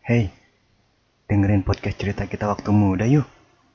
Hey, dengerin podcast cerita kita waktu muda yuk.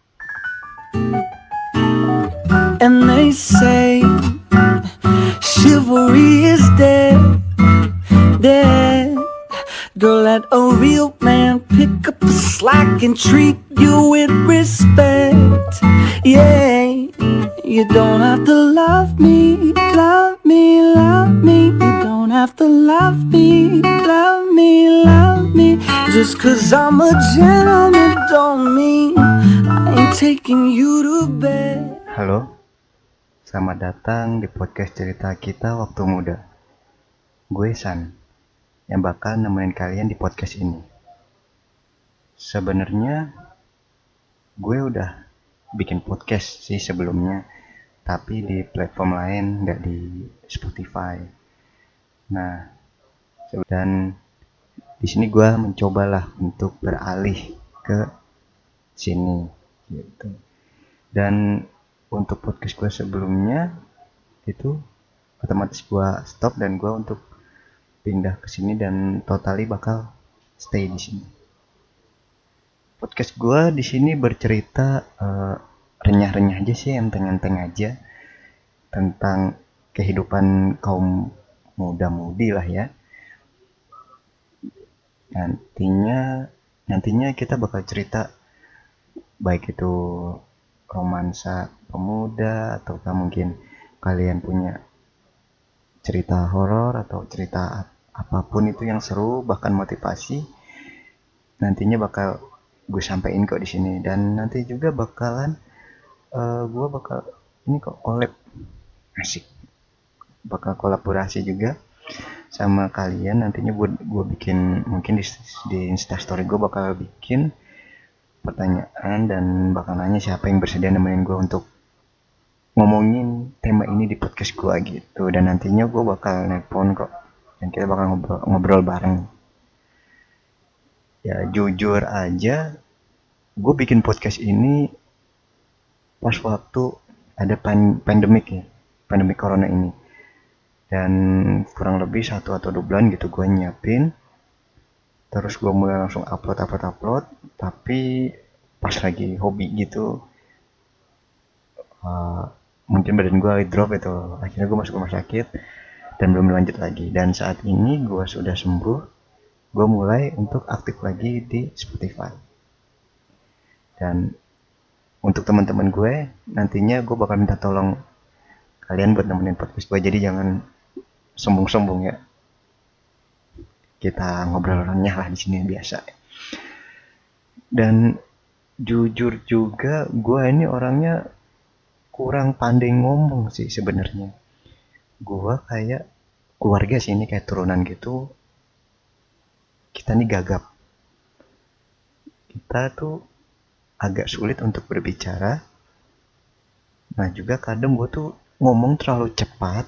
And they say chivalry is dead, dead. Don't let a real man pick up the slack and treat you with respect. Yeah, you don't have to love me, love me, love me. You don't have to love me, love me, love me. Just 'cause I'm a gentleman don't mean I ain't taking you to bed. Halo, selamat datang di podcast cerita kita waktu muda. Gue San, yang bakal nemenin kalian di podcast ini. Sebenarnya gue udah bikin podcast sih sebelumnya, tapi di platform lain, nggak di Spotify. Nah, dan di sini gue mencobalah untuk beralih ke sini, gitu. Dan untuk podcast gue sebelumnya itu otomatis gue stop dan gue untuk pindah ke sini dan totally bakal stay di sini. Podcast gue di sini bercerita renyah-renyah aja sih, enteng-enteng aja tentang kehidupan kaum muda-mudi lah ya. Nantinya kita bakal cerita baik itu romansa pemuda ataukah mungkin kalian punya cerita horor atau cerita apapun itu yang seru bahkan motivasi, nantinya bakal gue sampein kok di sini. Dan nanti juga bakalan gue bakal ini kok collab, asik, bakal kolaborasi juga sama kalian. Nantinya gue bikin mungkin di instastory gue bakal bikin pertanyaan dan bakal nanya siapa yang bersedia nemenin gue untuk ngomongin tema ini di podcast gue gitu. Dan nantinya gue bakal nelpon kok dan kita bakal ngobrol bareng. Ya jujur aja, gue bikin podcast ini pas waktu ada pandemik ya, pandemi corona ini. Dan kurang lebih 1 atau 2 bulan gitu gue nyiapin. Terus gue mulai langsung upload. Tapi pas lagi hobi gitu, mungkin badan gue drop itu. Akhirnya gue masuk rumah sakit dan belum lanjut lagi. Dan saat ini gue sudah sembuh, gue mulai untuk aktif lagi di Spotify. Dan untuk teman-teman gue, nantinya gue bakal minta tolong kalian buat nemenin podcast gue. Jadi jangan sombong-sombong ya. Kita ngobrol renyah lah di sini biasa. Dan jujur juga gue ini orangnya kurang pandai ngomong sih sebenarnya. Gue kayak keluarga sih, ini kayak turunan gitu. Kita nih gagap. Kita tuh agak sulit untuk berbicara. Nah juga kadang gue tuh ngomong terlalu cepat,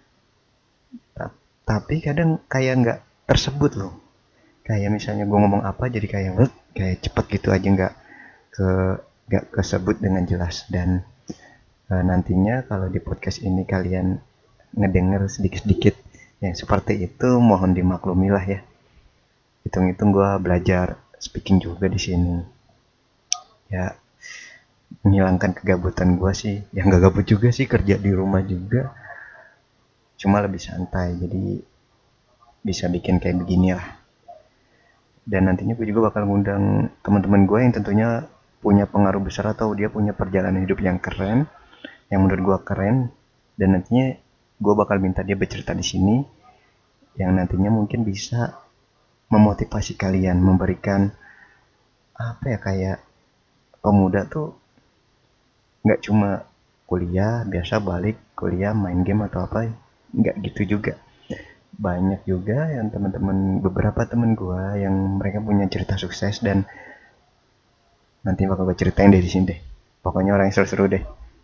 tapi kadang kayak nggak tersebut loh. Kayak misalnya gue ngomong apa jadi kayak cepet gitu aja, nggak kesebut dengan jelas. Dan nantinya kalau di podcast ini kalian ngedenger sedikit-sedikit yang seperti itu, mohon dimaklumi lah ya. Hitung-hitung gue belajar speaking juga di sini. Ya menghilangkan kegabutan gue sih. Yang gak gabut juga sih, kerja di rumah juga. Cuma lebih santai, jadi bisa bikin kayak begini lah. Dan nantinya gue juga bakal ngundang teman-teman gue yang tentunya punya pengaruh besar atau dia punya perjalanan hidup yang keren, yang menurut gue keren. Dan nantinya gue bakal minta dia bercerita di sini, yang nantinya mungkin bisa memotivasi kalian, memberikan apa ya, kayak pemuda tuh nggak cuma kuliah biasa balik kuliah main game atau apa, nggak gitu juga. Banyak juga yang beberapa temen gue yang mereka punya cerita sukses, dan nanti bakal gue ceritain deh di sini deh. Pokoknya orang yang seru-seru deh.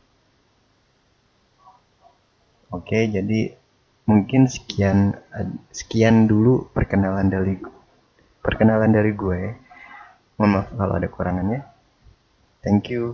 Oke, jadi mungkin sekian dulu perkenalan dari gue. Mohon maaf kalau ada kekurangannya. Thank you.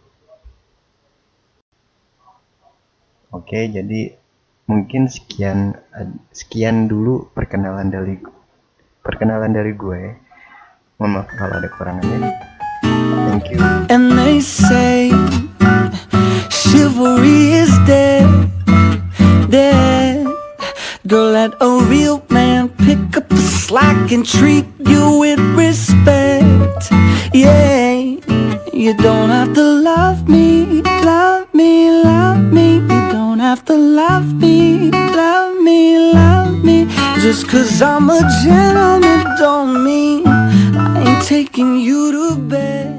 Oke, jadi mungkin sekian dulu perkenalan dari gue. Mohon maaf kalau ada kekurangannya. Thank you. And they say chivalry is dead, dead. Girl, let a real man pick up the slack and treat you with respect. Yeah, you don't have to love me, love me, love me. You don't have to love me, love me, love me. Just 'cause I'm a gentleman don't mean I ain't taking you to bed.